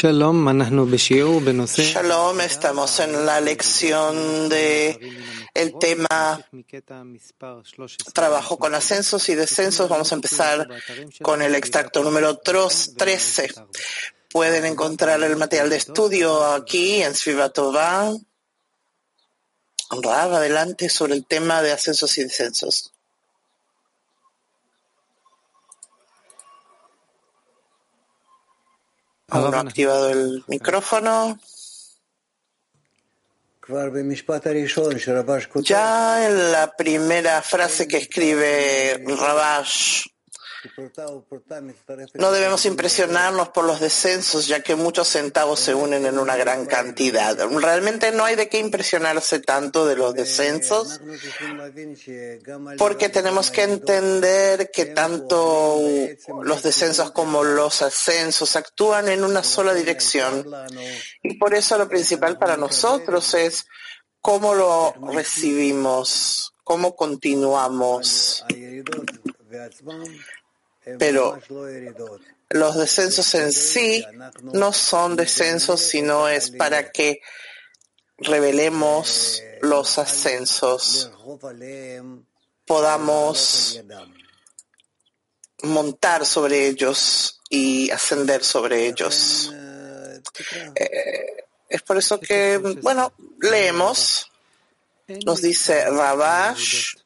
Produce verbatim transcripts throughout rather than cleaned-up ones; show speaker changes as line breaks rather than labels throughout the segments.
Shalom, estamos en la lección de el tema trabajo con ascensos y descensos. Vamos a empezar con el extracto número trece. Pueden encontrar el material de estudio aquí en Sviva Tová. Rav, adelante sobre el tema de ascensos y descensos. Aún no ha activado el micrófono. Ya en la primera frase que escribe Rabash, no debemos impresionarnos por los descensos, ya que muchos centavos se unen en una gran cantidad. Realmente no hay de qué impresionarse tanto de los descensos, porque tenemos que entender que tanto los descensos como los ascensos actúan en una sola dirección. Y por eso lo principal para nosotros es cómo lo recibimos, cómo continuamos. Pero los descensos en sí no son descensos, sino es para que revelemos los ascensos, podamos montar sobre ellos y ascender sobre ellos. Eh, es por eso que, bueno, leemos, nos dice Rabash,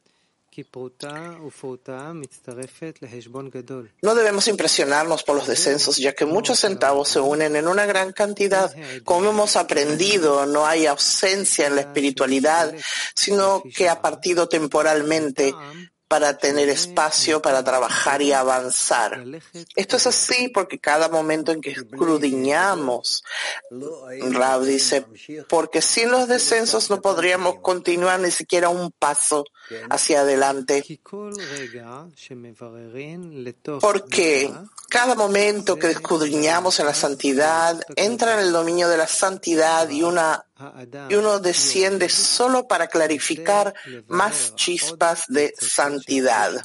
no debemos impresionarnos por los descensos, ya que muchos centavos se unen en una gran cantidad. Como hemos aprendido, no hay ausencia en la espiritualidad, sino que ha partido temporalmente para tener espacio para trabajar y avanzar. Esto es así porque cada momento en que escudriñamos, Rav dice, porque sin los descensos no podríamos continuar ni siquiera un paso hacia adelante. Porque cada momento que escudriñamos en la santidad entra en el dominio de la santidad y, una, y uno desciende solo para clarificar más chispas de santidad.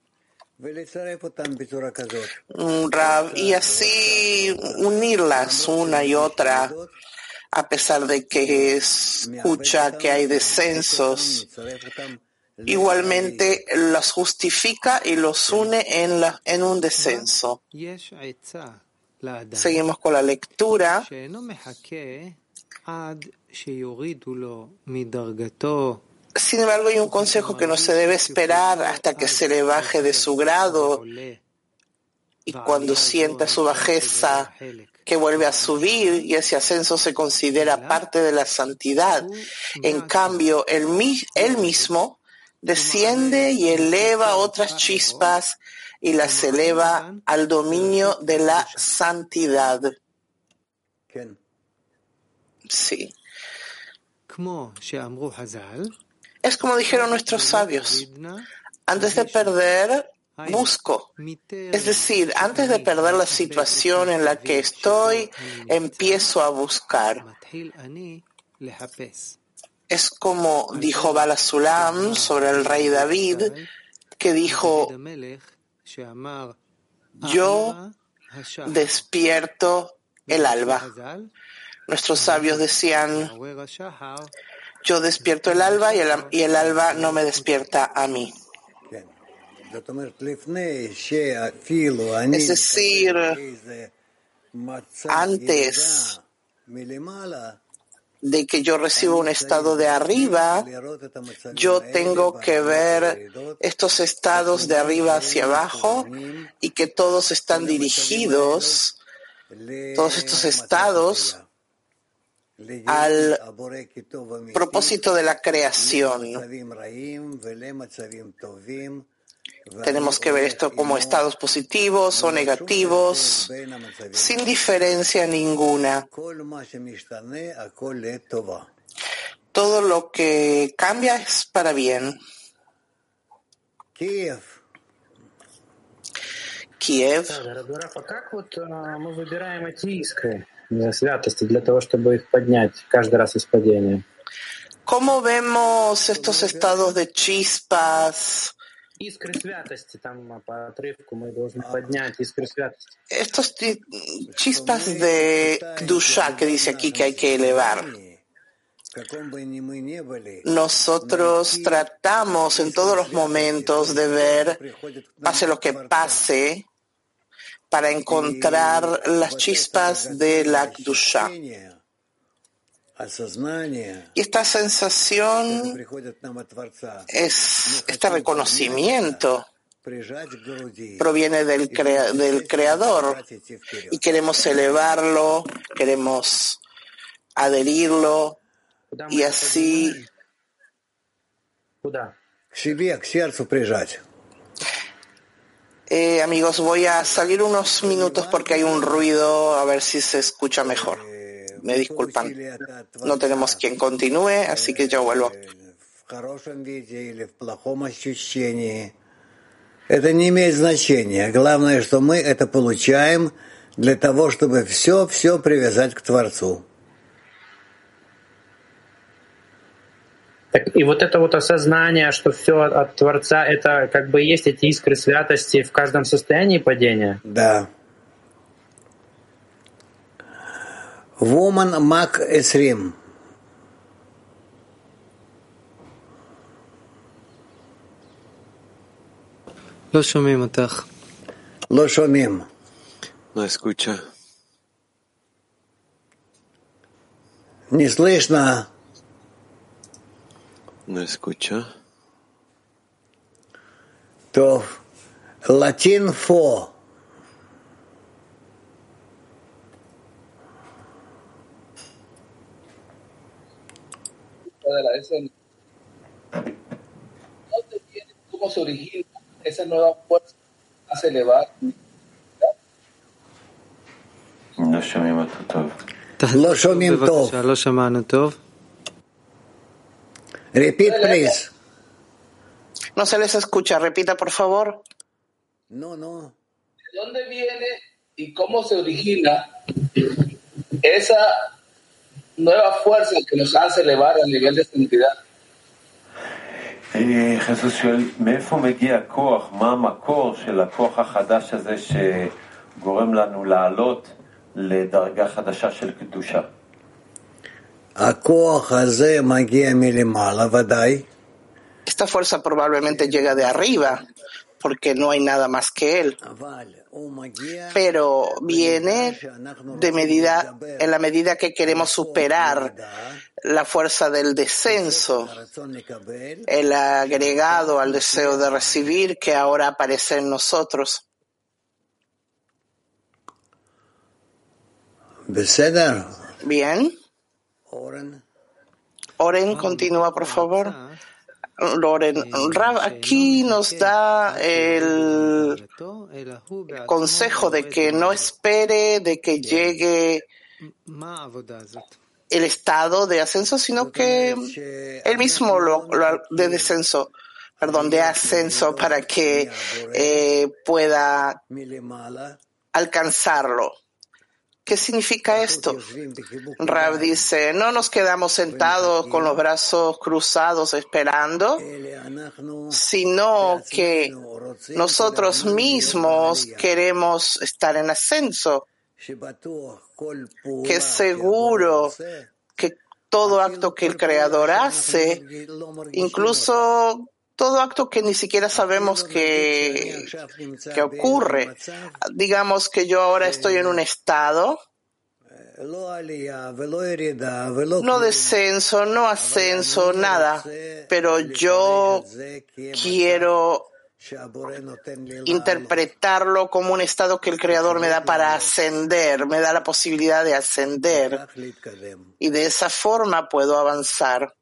Rav, y así unirlas una y otra, a pesar de que escucha que hay descensos, igualmente las justifica y los une en, la, en un descenso. Seguimos con la lectura. Sin embargo, hay un consejo que no se debe esperar hasta que se le baje de su grado, y cuando sienta su bajeza que vuelve a subir, y ese ascenso se considera parte de la santidad. En cambio, él, él mismo desciende y eleva otras chispas y las eleva al dominio de la santidad. Sí. Es como dijeron nuestros sabios, antes de perder, busco. Es decir, antes de perder la situación en la que estoy, empiezo a buscar. Es como dijo Bala Sulam sobre el rey David, que dijo, yo despierto el alba. Nuestros sabios decían, yo despierto el alba y el, y el alba no me despierta a mí. Es decir, antes de que yo reciba un estado de arriba, yo tengo que ver estos estados de arriba hacia abajo y que todos están dirigidos, todos estos estados, al propósito de la creación. Tenemos que ver esto como estados positivos o negativos, sin diferencia ninguna. Todo lo que cambia es para bien.
Kiev.
Kiev. ¿Cómo vemos estos estados de chispas Estos chispas de Kdusha que dice aquí que hay que elevar. Nosotros tratamos en todos los momentos de ver, pase lo que pase, para encontrar las chispas de la Kdusha. Y esta sensación es, este reconocimiento proviene del, crea, del Creador y queremos elevarlo, queremos adherirlo y así eh, amigos, voy a salir unos minutos porque hay un ruido, a ver si se escucha mejor. Me disculpan, no tenemos quien continúe, así que yo vuelvo.
Это не имеет значения. Главное, что мы это получаем для того, чтобы все-все привязать к Творцу.
Так, и вот это вот осознание, что все от Творца, это как бы есть эти искры святости в каждом состоянии падения?
Да. Woman Мак Эсрим.
לא שומעים אותך.
לא שומעים.
No escucha.
Не слышно.
No escucha.
То латин фо.
¿Cómo se origina esa nueva fuerza que hace elevar?
לא שומעים אותו טוב.
לא שומעים טוב.
בבקשה, לא שמענו טוב.
Repeat, please.
No se les escucha, repita por favor.
No, no.
¿De dónde viene y cómo se origina esa nueva fuerza que nos hace elevar al nivel de santidad?
חיסוס שואל, מאיפה מגיע הכוח? מה המקור של הכוח החדש הזה שגורם לנו לעלות לדרגה חדשה של קדושה?
הכוח הזה מגיע מלמעלה, ודאי.
Esta fuerza probablemente llega de arriba, porque no hay nada más que él. Pero viene de medida, en la medida que queremos superar la fuerza del descenso, el agregado al deseo de recibir que ahora aparece en nosotros. Bien. Oren, continúa, por favor. Loren, Rav aquí nos da el consejo de que no espere de que llegue el estado de ascenso, sino que él mismo lo, lo de descenso, perdón, de ascenso para que eh, pueda alcanzarlo. ¿Qué significa esto? Rav dice, no nos quedamos sentados con los brazos cruzados esperando, sino que nosotros mismos queremos estar en ascenso, que es seguro que todo acto que el Creador hace, incluso todo acto que ni siquiera sabemos que, que ocurre. Digamos que yo ahora estoy en un estado, no descenso, no ascenso, nada, pero yo quiero interpretarlo como un estado que el Creador me da para ascender, me da la posibilidad de ascender, y de esa forma puedo avanzar.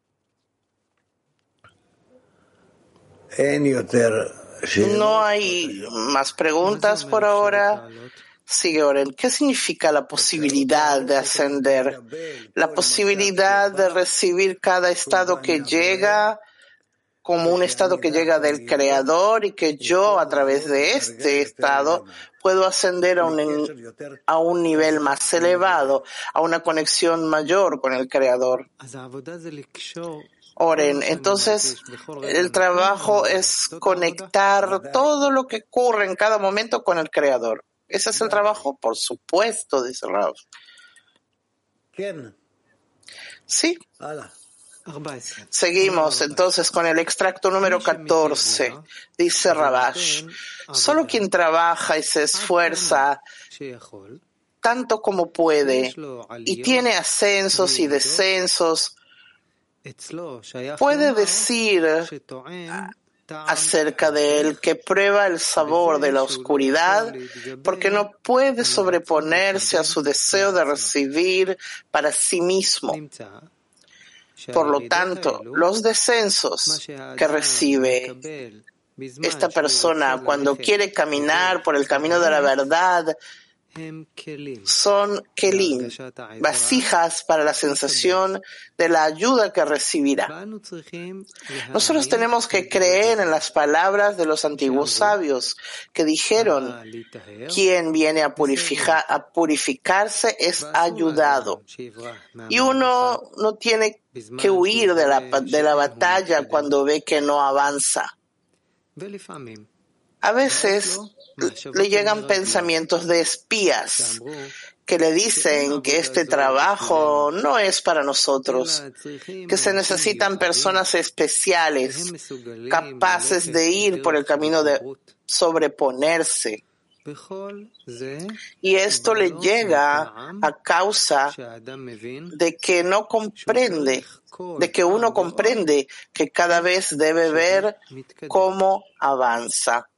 No hay más preguntas por ahora. Sigue Oren. ¿Qué significa la posibilidad de ascender? La posibilidad de recibir cada estado que llega como un estado que llega del Creador y que yo a través de este estado puedo ascender a un, a un nivel más elevado, a una conexión mayor con el Creador. Oren. Entonces, el trabajo es conectar todo lo que ocurre en cada momento con el Creador. ¿Ese es el trabajo? Por supuesto, dice Rav. Sí. Seguimos entonces con el extracto número catorce. Dice Rabash, solo quien trabaja y se esfuerza tanto como puede y tiene ascensos y descensos, puede decir acerca de él que prueba el sabor de la oscuridad porque no puede sobreponerse a su deseo de recibir para sí mismo. Por lo tanto, los descensos que recibe esta persona cuando quiere caminar por el camino de la verdad son kelim, vasijas para la sensación de la ayuda que recibirá. Nosotros tenemos que creer en las palabras de los antiguos sabios que dijeron: quien viene a, purificar, a purificarse es ayudado. Y uno no tiene que huir de la, de la batalla cuando ve que no avanza. A veces le llegan pensamientos de espías que le dicen que este trabajo no es para nosotros, que se necesitan personas especiales, capaces de ir por el camino de sobreponerse. Y esto le llega a causa de que no comprende, de que uno comprende que cada vez debe ver cómo avanza.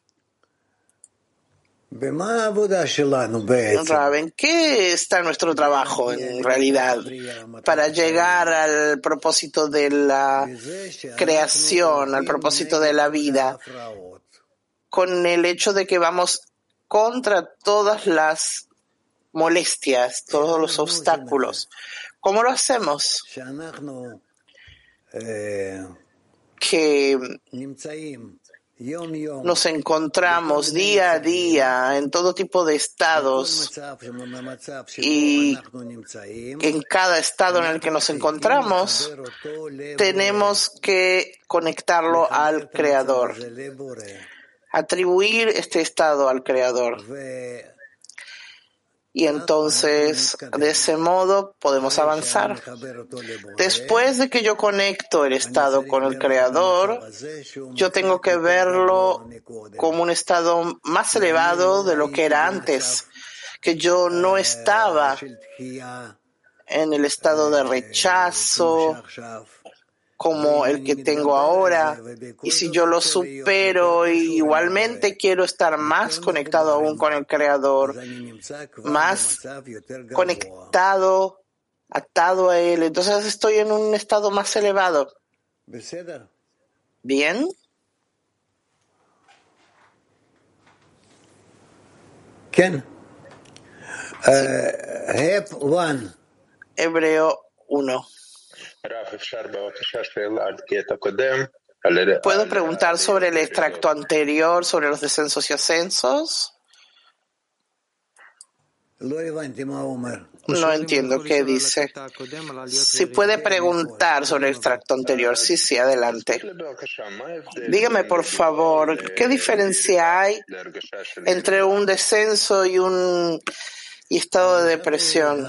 ¿En qué está nuestro trabajo en realidad para llegar al propósito de la creación, al propósito de la vida, con el hecho de que vamos contra todas las molestias, todos los obstáculos? ¿Cómo lo hacemos? Que nos encontramos día a día en todo tipo de estados y en cada estado en el que nos encontramos tenemos que conectarlo al Creador, atribuir este estado al Creador. Y entonces, de ese modo, podemos avanzar. Después de que yo conecto el estado con el Creador, yo tengo que verlo como un estado más elevado de lo que era antes, que yo no estaba en el estado de rechazo como el que tengo ahora, y si yo lo supero, igualmente quiero estar más conectado aún con el Creador, más conectado, atado a Él. Entonces estoy en un estado más elevado. ¿Bien?
¿Quién?
Sí. Hebreo uno. ¿Puedo preguntar sobre el extracto anterior, sobre los descensos y ascensos? No entiendo qué dice. Si puede preguntar sobre el extracto anterior. Sí, sí, adelante. Dígame, por favor, ¿qué diferencia hay entre un descenso y un y estado de depresión?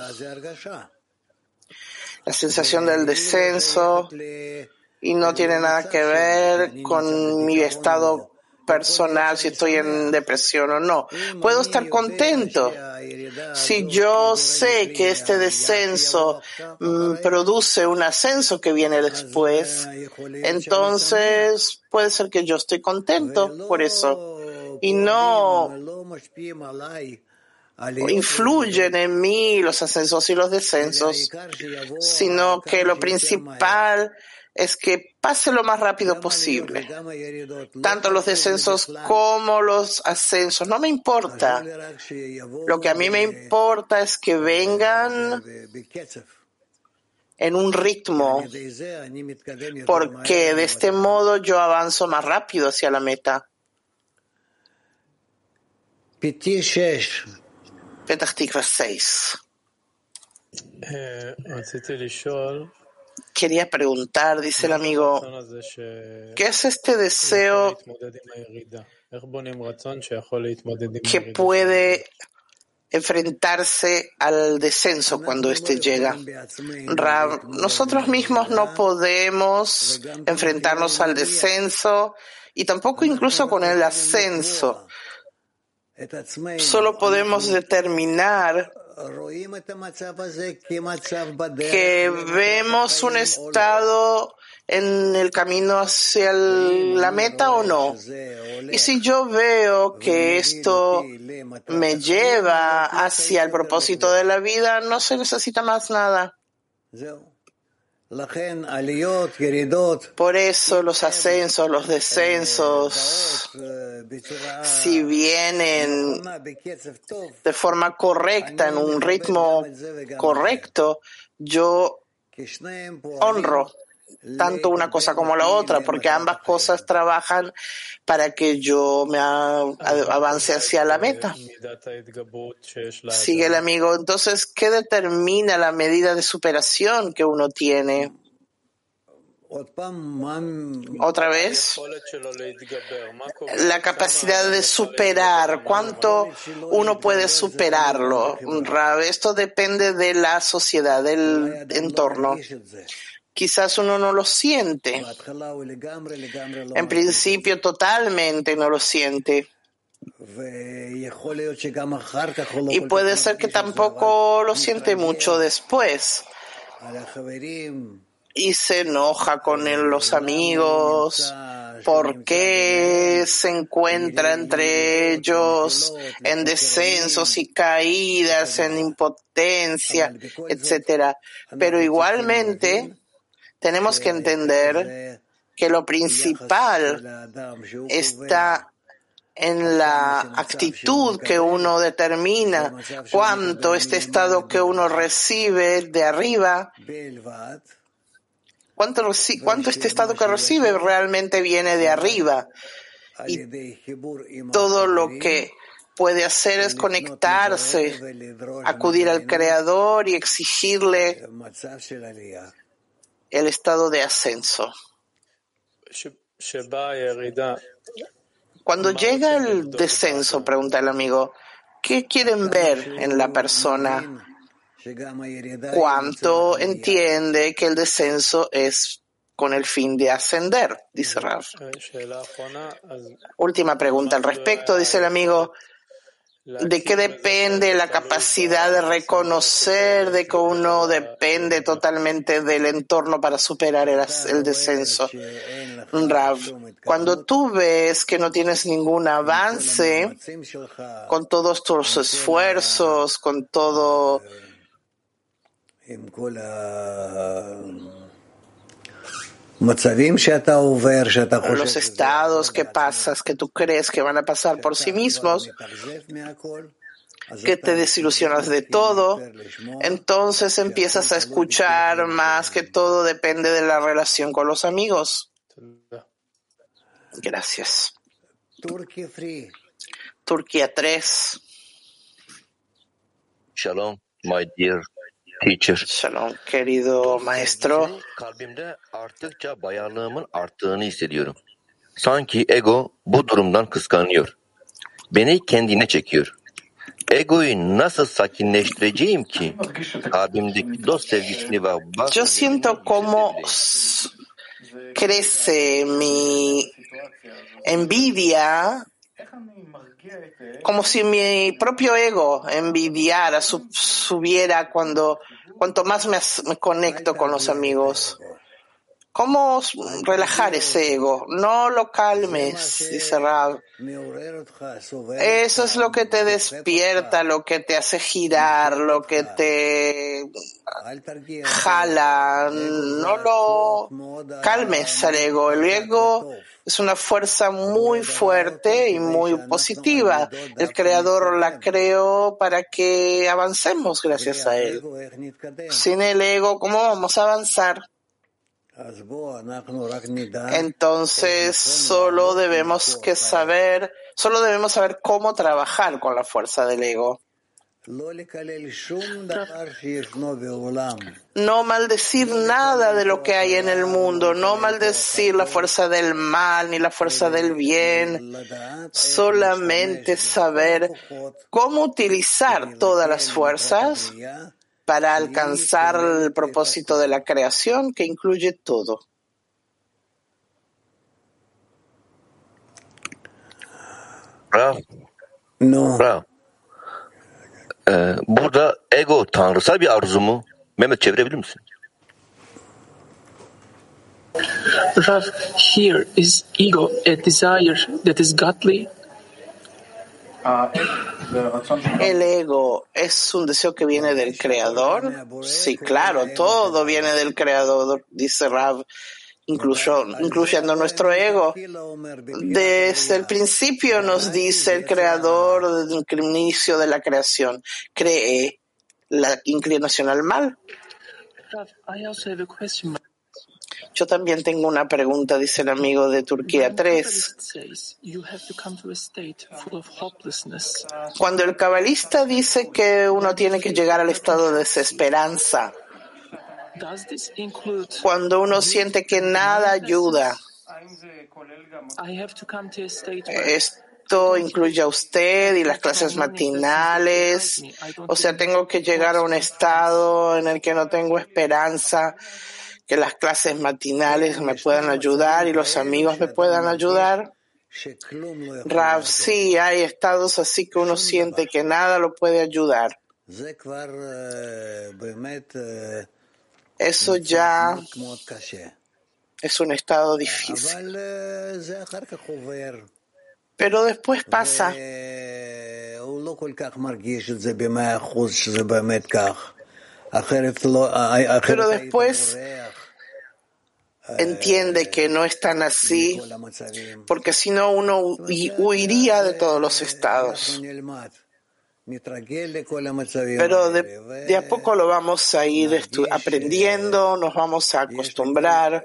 La sensación del descenso y no tiene nada que ver con mi estado personal, si estoy en depresión o no. Puedo estar contento si yo sé que este descenso mm, produce un ascenso que viene después. Entonces puede ser que yo estoy contento por eso y no influyen en mí los ascensos y los descensos, sino que lo principal es que pase lo más rápido posible. Tanto los descensos como los ascensos. No me importa. Lo que a mí me importa es que vengan en un ritmo, porque de este modo yo avanzo más rápido hacia la meta. Petach Tikva seis. Quería preguntar, dice el amigo, ¿qué es este deseo que puede enfrentarse al descenso cuando éste llega? Rav, nosotros mismos no podemos enfrentarnos al descenso y tampoco incluso con el ascenso. Solo podemos determinar que vemos un estado en el camino hacia el- la meta o no. Y si yo veo que esto me lleva hacia el propósito de la vida, no se necesita más nada. Por eso los ascensos, los descensos, si vienen de forma correcta, en un ritmo correcto, yo honro tanto una cosa como la otra, porque ambas cosas trabajan para que yo me a- a- avance hacia la meta. Sigue el amigo. Entonces, ¿qué determina la medida de superación que uno tiene? Otra vez, la capacidad de superar. ¿Cuánto uno puede superarlo? Rav, esto depende de la sociedad, del entorno. Quizás uno no lo siente. En principio, totalmente no lo siente. Y puede ser que tampoco lo siente mucho después. Y se enoja con él, los amigos, porque se encuentra entre ellos en descensos y caídas, en impotencia, etcétera. Pero igualmente tenemos que entender que lo principal está en la actitud que uno determina, cuánto este estado que uno recibe de arriba, cuánto, reci- cuánto este estado que recibe realmente viene de arriba. Y todo lo que puede hacer es conectarse, acudir al Creador y exigirle el estado de ascenso. Cuando llega el descenso, pregunta el amigo, ¿qué quieren ver en la persona? ¿Cuánto entiende que el descenso es con el fin de ascender? Dice Rav. Última pregunta al respecto, dice el amigo. ¿De qué depende la capacidad de reconocer de que uno depende totalmente del entorno para superar el, el descenso? Rav, cuando tú ves que no tienes ningún avance con todos tus esfuerzos, con todo los estados que pasas, que tú crees que van a pasar por sí mismos, que te desilusionas de todo, entonces empiezas a escuchar más que todo depende de la relación con los amigos. Gracias. Turquía tres.
Shalom, my dear teacher.
Shalom, querido maestro.
Kalbimde arttıkça bayarlığımın arttığını hissediyorum. Sanki ego bu durumdan kıskanıyor. Beni kendine çekiyor. Egoyu nasıl sakinleştireceğim ki kalbimdeki dost sevgisini ve bak.
Yo siento como crece mi envidia, como si mi propio ego envidiara, sub, subiera cuando cuanto más me, me conecto con los amigos. ¿Cómo relajar ese ego? No lo calmes, dice Rav. Eso es lo que te despierta, lo que te hace girar, lo que te jala. No lo calmes al ego. El ego es una fuerza muy fuerte y muy positiva. El Creador la creó para que avancemos gracias a Él. Sin el ego, ¿cómo vamos a avanzar? Entonces solo debemos que saber, solo debemos saber cómo trabajar con la fuerza del ego. No maldecir nada de lo que hay en el mundo, no maldecir la fuerza del mal ni la fuerza del bien, solamente saber cómo utilizar todas las fuerzas para alcanzar el propósito de la creación que incluye todo.
Bravo.
No.
Bravo. Ee, burada ego tanrısal bir arzu mu? Mehmet çevirebilir misin?
Rav, here is ego a desire that is godly?
¿El ego es un deseo que viene del Creador? Sí, claro, todo viene del Creador, dice Rav, incluso, incluyendo nuestro ego. Desde el principio nos dice el Creador, desde el inicio de la creación, cree la inclinación al mal.
Rav, I also have a question.
Yo también tengo una pregunta, dice el amigo de Turquía tres. Cuando el cabalista dice que uno tiene que llegar al estado de desesperanza, cuando uno siente que nada ayuda, esto incluye a usted y las clases matinales, o sea, tengo que llegar a un estado en el que no tengo esperanza, que las clases matinales me puedan ayudar y los amigos me puedan ayudar. Rav, sí, hay estados así que uno siente que nada lo puede ayudar. Eso ya es un estado difícil. Pero después pasa. Pero después entiende que no es tan así, porque si no uno huiría de todos los estados. Pero de, de a poco lo vamos a ir aprendiendo, nos vamos a acostumbrar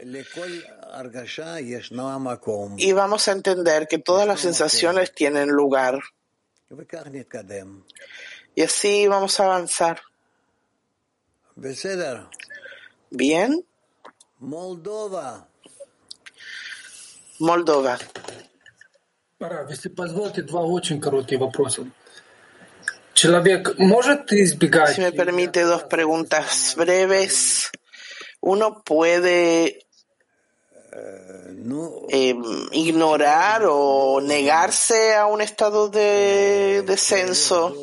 y vamos a entender que todas las sensaciones tienen lugar. Y así vamos a avanzar. Bien.
Moldova.
Moldova.
Если позволите, два очень коротких вопроса. Человек может избегать...
Si me permite dos preguntas breves. Uno puede eh, ignorar o negarse a un estado de descenso.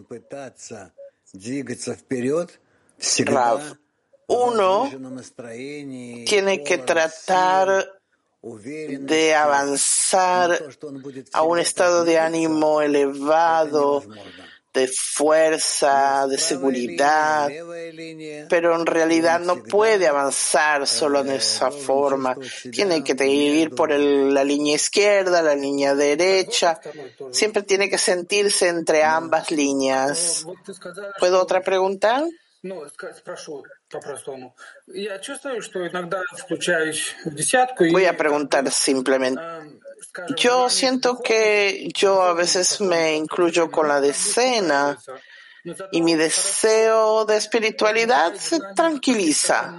Rav, uno tiene que tratar de avanzar a un estado de ánimo elevado, de fuerza, de seguridad, pero en realidad no puede avanzar solo en esa forma. Tiene que ir por el, la línea izquierda, la línea derecha. Siempre tiene que sentirse entre ambas líneas. ¿Puedo otra pregunta?
Ну, спрошу по-простому. Я чувствую, что иногда включаюсь в десятку.
Voy a preguntar simplemente. Yo siento que yo a veces me incluyo con la decena y mi deseo de espiritualidad se tranquiliza.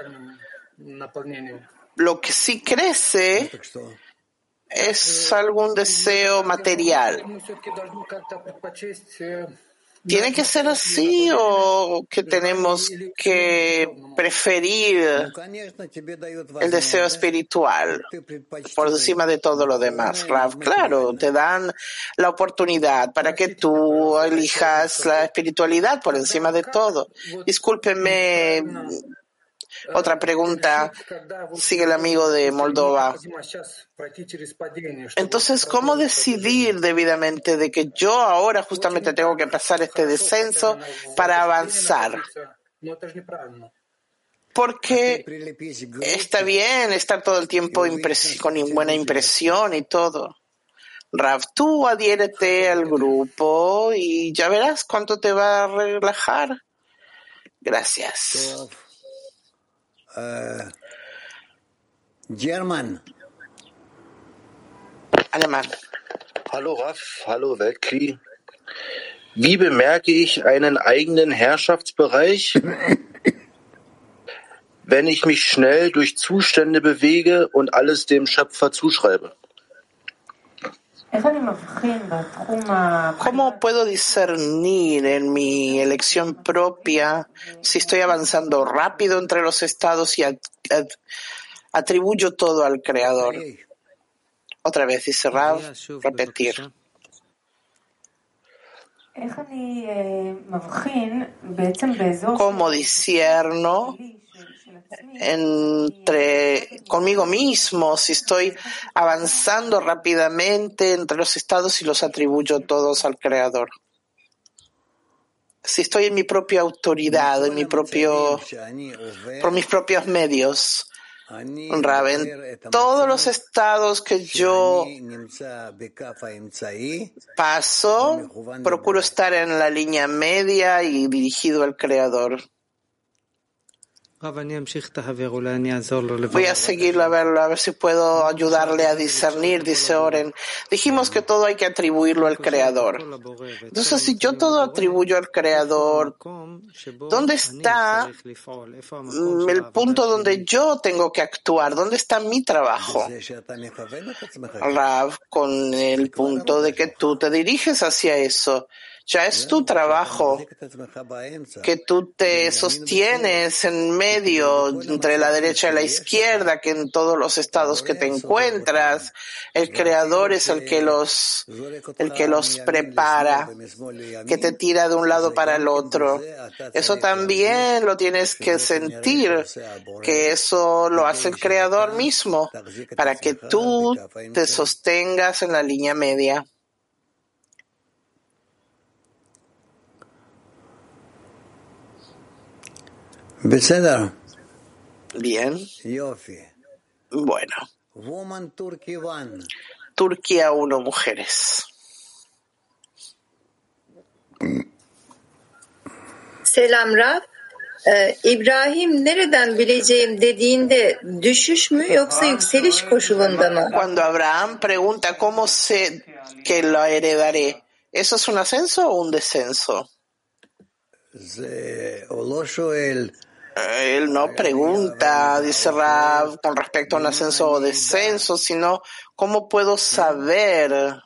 Lo que sí crece es algún deseo material. ¿Tiene que ser así o que tenemos que preferir el deseo espiritual por encima de todo lo demás? Rav, claro, te dan la oportunidad para que tú elijas la espiritualidad por encima de todo. Discúlpeme. Otra pregunta, sigue el amigo de Moldova. Entonces, ¿cómo decidir debidamente de que yo ahora justamente tengo que pasar este descenso para avanzar? Porque está bien estar todo el tiempo impres- con buena impresión y todo. Rav, tú adhiérete al grupo y ya verás cuánto te va a relajar. Gracias.
Uh, German.
Alemán.
Hallo Raf, hallo Weltkrieg.
Wie bemerke ich einen eigenen Herrschaftsbereich, wenn ich mich schnell durch Zustände bewege und alles dem Schöpfer zuschreibe?
¿Cómo puedo discernir en mi elección propia si estoy avanzando rápido entre los estados y at- at- atribuyo todo al Creador? Otra vez, dice Rav, repetir. ¿Cómo discierno entre conmigo mismo si estoy avanzando rápidamente entre los estados y los atribuyo todos al Creador? Si estoy en mi propia autoridad, en mi propio, por mis propios medios, Rav, en todos los estados que yo paso, procuro estar en la línea media y dirigido al Creador. Voy a seguirlo a verlo, a ver si puedo ayudarle a discernir, dice Oren. Dijimos que todo hay que atribuirlo al Creador. Entonces, si yo todo atribuyo al Creador, ¿dónde está el punto donde yo tengo que actuar? ¿Dónde está mi trabajo? Rav, con el punto de que tú te diriges hacia eso. Ya es tu trabajo, que tú te sostienes en medio, entre la derecha y la izquierda, que en todos los estados que te encuentras, el Creador es el que los, el que los prepara, que te tira de un lado para el otro. Eso también lo tienes que sentir, que eso lo hace el Creador mismo, para que tú te sostengas en la línea media. Bien. Bueno. Turquía uno, mujeres.
Selam Rab. Ee, İbrahim nereden bileceğim dediğinde düşüş mü yoksa yükseliş koşulunda mı?
Cuando Abraham pregunta cómo sé que lo heredaré, ¿eso es un ascenso o un descenso? Él no pregunta, dice Rav, con respecto a un ascenso o descenso, sino cómo puedo saber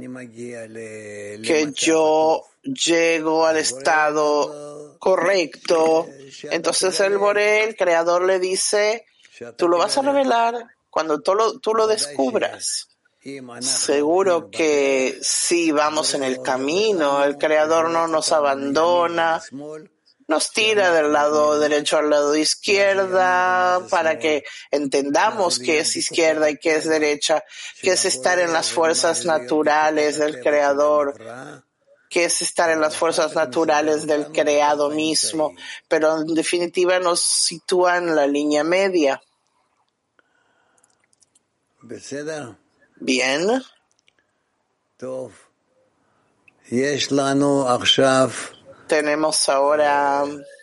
que yo llego al estado correcto. Entonces el Boré, el Creador, le dice, tú lo vas a revelar cuando tú lo, tú lo descubras. Seguro que si vamos en el camino, el Creador no nos abandona, nos tira del lado derecho al lado izquierda para que entendamos qué es izquierda y qué es derecha, qué es estar en las fuerzas naturales del Creador, qué es estar en las fuerzas naturales del creado mismo, pero en definitiva nos sitúa en la línea media. Bien. Tenemos ahora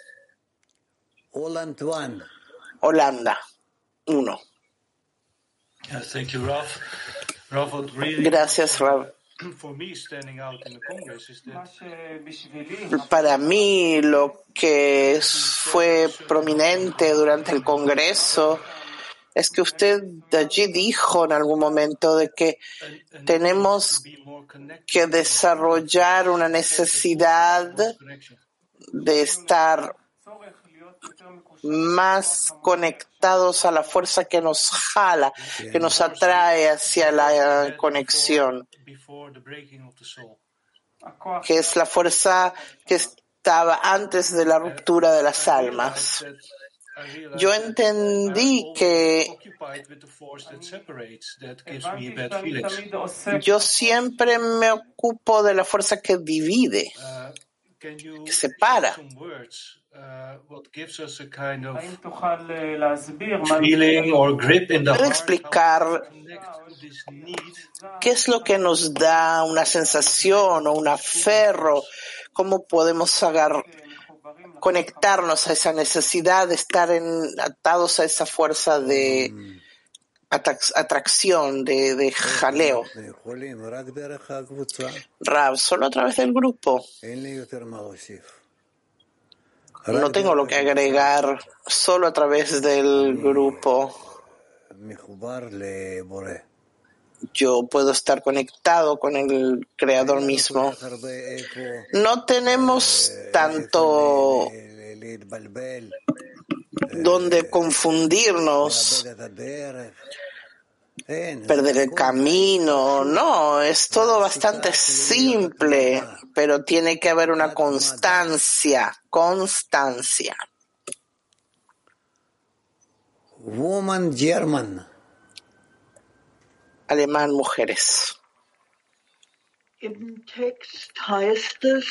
Holanda, uno. Gracias, Rav. Para mí, lo que fue prominente durante el Congreso es que usted allí dijo en algún momento de que tenemos que desarrollar una necesidad de estar más conectados a la fuerza que nos jala, que nos atrae hacia la conexión, que es la fuerza que estaba antes de la ruptura de las almas. Yo entendí que yo siempre me ocupo de la fuerza que divide, que separa. ¿Puede explicar qué es lo que nos da una sensación o un aferro? ¿Cómo podemos agarrar, conectarnos a esa necesidad de estar en, atados a esa fuerza de atracción, de, de jaleo. Rav, solo a través del grupo. No tengo lo que agregar, solo a través del grupo. Yo puedo estar conectado con el Creador mismo. No tenemos tanto donde confundirnos, perder el camino. No, es todo bastante simple, pero tiene que haber una constancia, constancia.
Woman German.
Alemán, mujeres.
Im Text heißt es,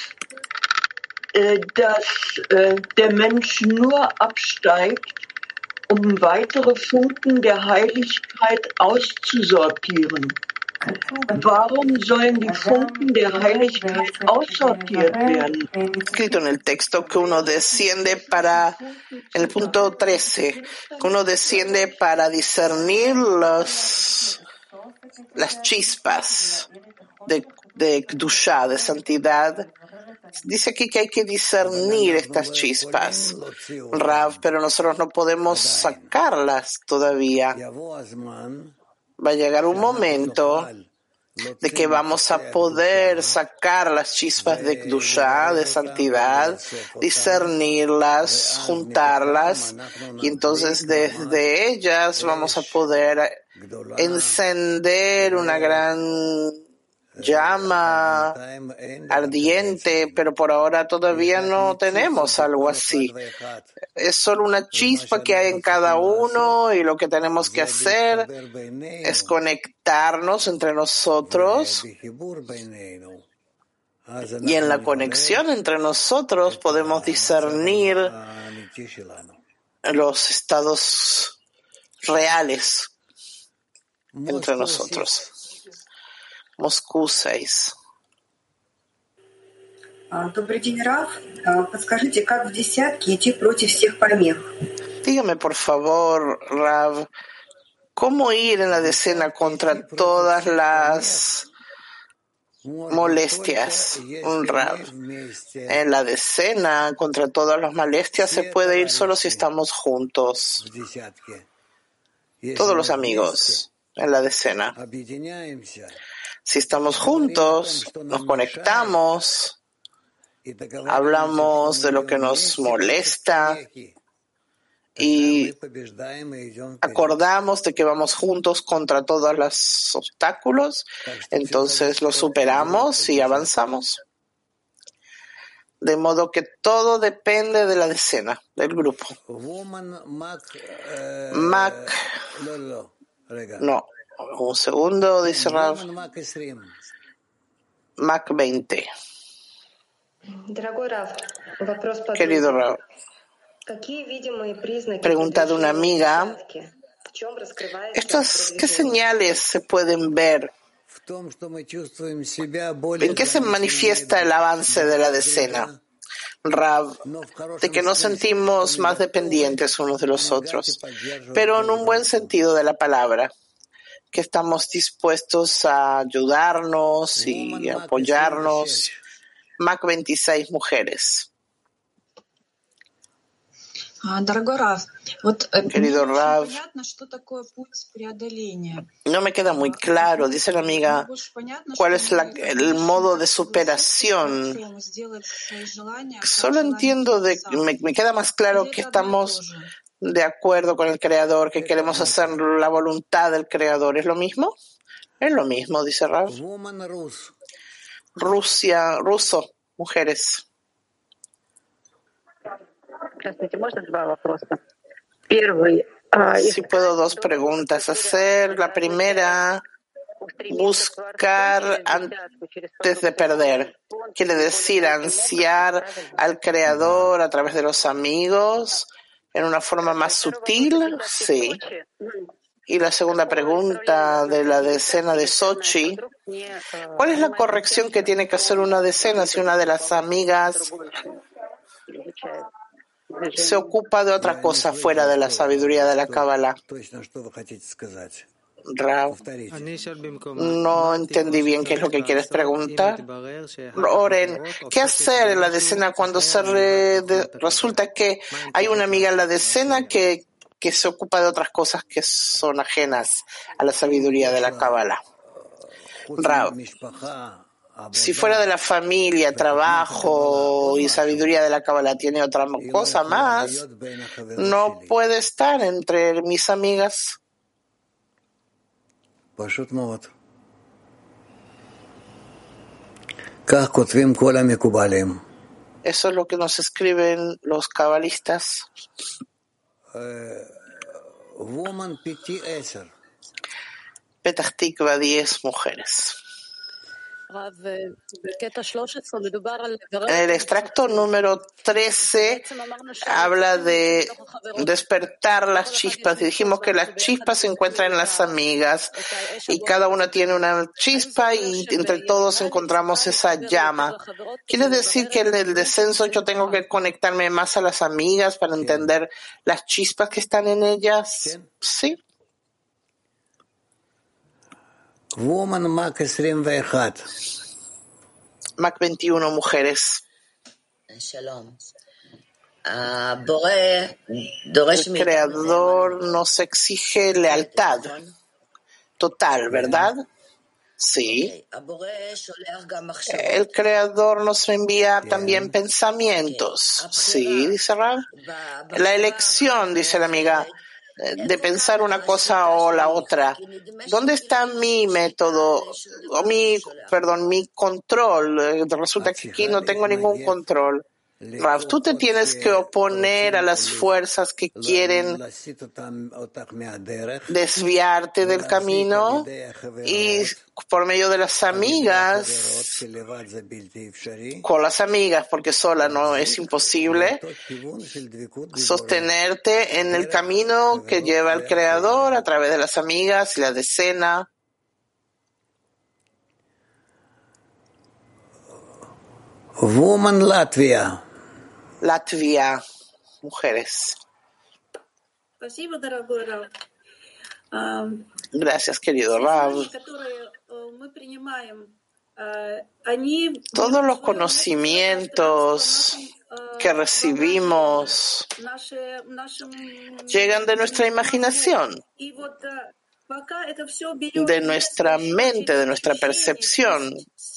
dass der Mensch nur absteigt, um weitere Funken der Heiligkeit auszusortieren. Warum sollen die Funken der Heiligkeit aussortiert werden?
Escrito en el texto que uno desciende para, en el punto trece, que uno desciende para discernir los, las chispas de, de Kedushá, de santidad. Dice aquí que hay que discernir estas chispas, Rav, pero nosotros no podemos sacarlas todavía. Va a llegar un momento de que vamos a poder sacar las chispas de Kedushá, de santidad, discernirlas, juntarlas, y entonces desde ellas vamos a poder encender una gran llama ardiente, pero por ahora todavía no tenemos algo así. Es solo una chispa que hay en cada uno, y lo que tenemos que hacer es conectarnos entre nosotros, y en la conexión entre nosotros podemos discernir los estados reales entre nosotros. Moscú seis.
Добрый день, Рав. Подскажите, как в десятке идти против всех помех?
Dígame, por favor, Rav, ¿cómo ir en la decena contra todas las molestias? Un Rav. En la decena contra todas las molestias se puede ir solo si estamos juntos. Todos los amigos en la decena. Si estamos juntos, nos conectamos, hablamos de lo que nos molesta y acordamos de que vamos juntos contra todos los obstáculos, entonces los superamos y avanzamos. De modo que todo depende de la decena, del grupo. Mac, no. Un segundo, dice Rav. Mac veinte. Querido Rav, pregunta de una amiga, ¿estas qué señales se pueden ver? ¿En qué se manifiesta el avance de la decena? Rav, de que nos sentimos más dependientes unos de los otros, pero en un buen sentido de la palabra, que estamos dispuestos a ayudarnos y apoyarnos. Mac veintiséis, mujeres. Querido Rav, no me queda muy claro, dice la amiga, cuál es la, el modo de superación. Solo entiendo, de, me, me queda más claro que estamos de acuerdo con el Creador, que queremos hacer la voluntad del Creador. ¿Es lo mismo? Es lo mismo, dice Rav. Rusia, ruso, mujeres. Si puedo dos preguntas hacer. La primera, buscar antes de perder. Quiere decir ansiar al Creador a través de los amigos en una forma más sutil. Sí. Y la segunda pregunta de la decena de Sochi, ¿cuál es la corrección que tiene que hacer una decena si una de las amigas se ocupa de otra cosa fuera de la sabiduría de la Cábala. Rav, no entendí bien qué es lo que quieres preguntar. Oren, ¿qué hacer en la decena cuando se re, de, resulta que hay una amiga en la decena que, que se ocupa de otras cosas que son ajenas a la sabiduría de la Cábala? Rav, si fuera de la familia, trabajo y sabiduría de la Cábala tiene otra cosa más, no puede estar entre mis amigas. Eso es lo que nos escriben los cabalistas. Petah Tikva, diez mujeres. En el extracto número trece habla de despertar las chispas. Y dijimos que las chispas se encuentran en las amigas y cada una tiene una chispa y entre todos encontramos esa llama. ¿Quiere decir que en el descenso yo tengo que conectarme más a las amigas para entender las chispas que están en ellas? Sí.
Woman Mac veintiuno.
Mac veintiuno, mujeres. El Creador nos exige lealtad total, ¿verdad? Sí. El Creador nos envía también pensamientos. Sí, dice Rav. La elección, dice la amiga, de pensar una cosa o la otra. ¿Dónde está mi método o mi, perdón, mi control? Resulta que aquí no tengo ningún control. Rav, tú te tienes que oponer a las fuerzas que quieren desviarte del camino y por medio de las amigas, con las amigas, porque sola no es imposible, sostenerte en el camino que lleva el Creador a través de las amigas y la decena.
Woman Latvia.
Latvia, mujeres. Gracias, querido Rav. Todos los conocimientos que recibimos llegan de nuestra imaginación, de nuestra mente, de nuestra percepción.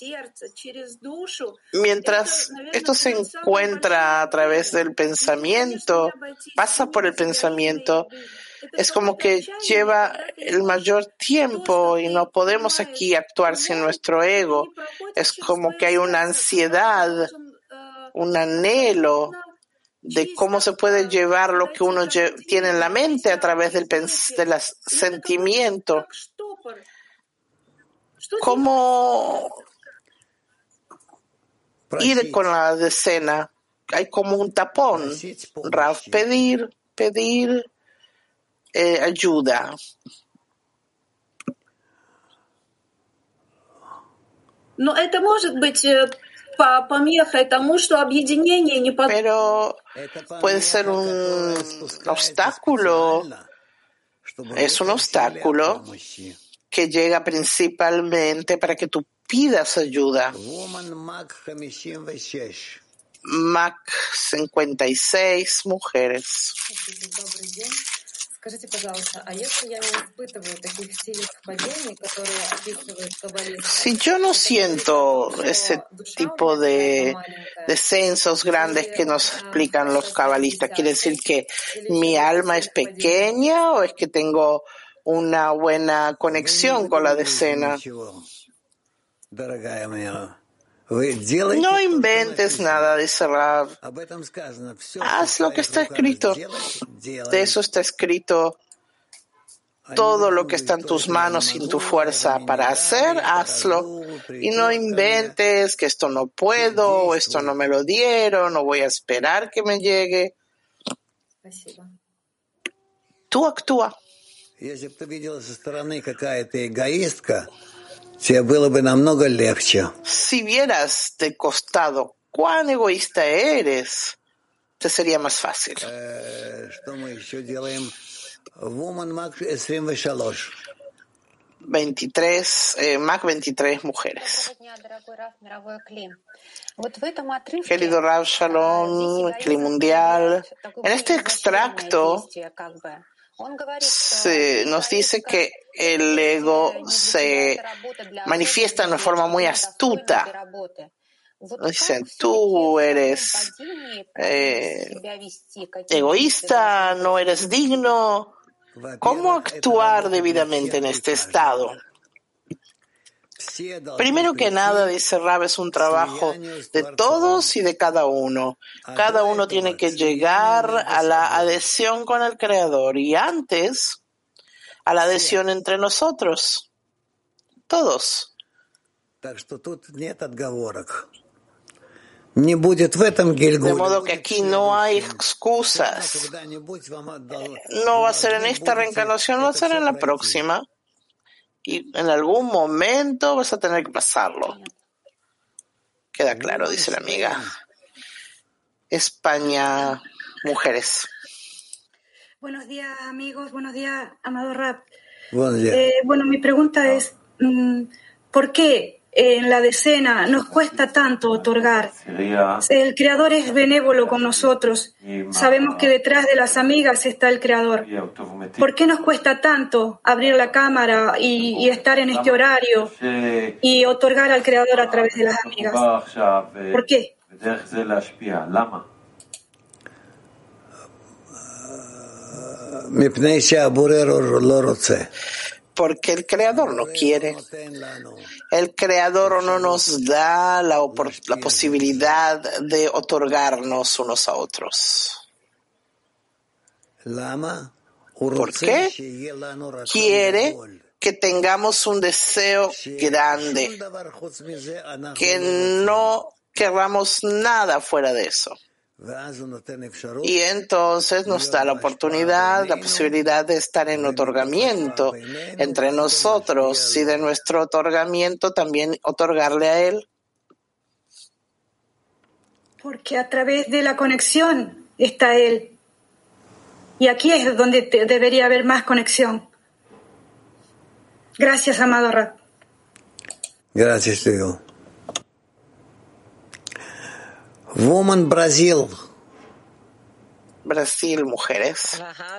Mientras esto se encuentra a través del pensamiento, pasa por el pensamiento, es como que lleva el mayor tiempo y no podemos aquí actuar sin nuestro ego. Es como que hay una ansiedad, un anhelo de cómo se puede llevar lo que uno tiene en la mente a través del, del sentimiento. ¿Cómo ir con la decena? Hay como un tapón. Rav, pedir, pedir eh, ayuda.
Но это может быть помехой тому, что объединение не под...
Pero puede ser un obstáculo. Es un obstáculo que llega principalmente para que tú pidas ayuda. Mac cincuenta y seis, mujeres. Si yo no siento ese tipo de descensos grandes que nos explican los cabalistas, ¿quiere decir que mi alma es pequeña o es que tengo una buena conexión con la decena? No inventes nada, dice Rav. Haz lo que está escrito. De eso está escrito. Todo lo que está en tus manos y en tu fuerza para hacer, hazlo. Y no inventes que esto no puedo, o esto no me lo dieron, o voy a esperar que me llegue. Tú actúa. Si vieras de costado cuán egoísta eres, Este sería más fácil. veintitrés, eh, Mac veintitrés mujeres. Querido Rav Shalom, Cli Mundial, en este extracto se nos dice que el ego se manifiesta de una forma muy astuta. Dicen, tú eres eh, egoísta, no eres digno. ¿Cómo actuar debidamente en este estado? Primero que nada, dice Rab, es un trabajo de todos y de cada uno. Cada uno tiene que llegar a la adhesión con el Creador y antes a la adhesión entre nosotros. Todos. De modo que aquí no hay excusas. No va a ser en esta reencarnación, va a ser en la próxima. Y en algún momento vas a tener que pasarlo. Queda claro, dice la amiga. España, mujeres.
Buenos días, amigos. Buenos días, amado Rab.
Buenos días.
Eh, bueno, mi pregunta es, ¿por qué en la decena nos cuesta tanto otorgar? El Creador es benévolo con nosotros. Sabemos que detrás de las amigas está el Creador. ¿Por qué nos cuesta tanto abrir la cámara y, y estar en este horario y otorgar al Creador a través de las amigas? ¿Por qué?
Porque el Creador no quiere. El Creador no nos da la, la posibilidad de otorgarnos unos a otros. ¿Por qué? Quiere que tengamos un deseo grande, que no querramos nada fuera de eso. Y entonces nos da la oportunidad, la posibilidad de estar en otorgamiento entre nosotros y de nuestro otorgamiento también otorgarle a Él.
Porque a través de la conexión está Él. Y aquí es donde te debería haber más conexión. Gracias, amado Rab.
Gracias, Diego. Woman Brasil.
Brasil, mujeres.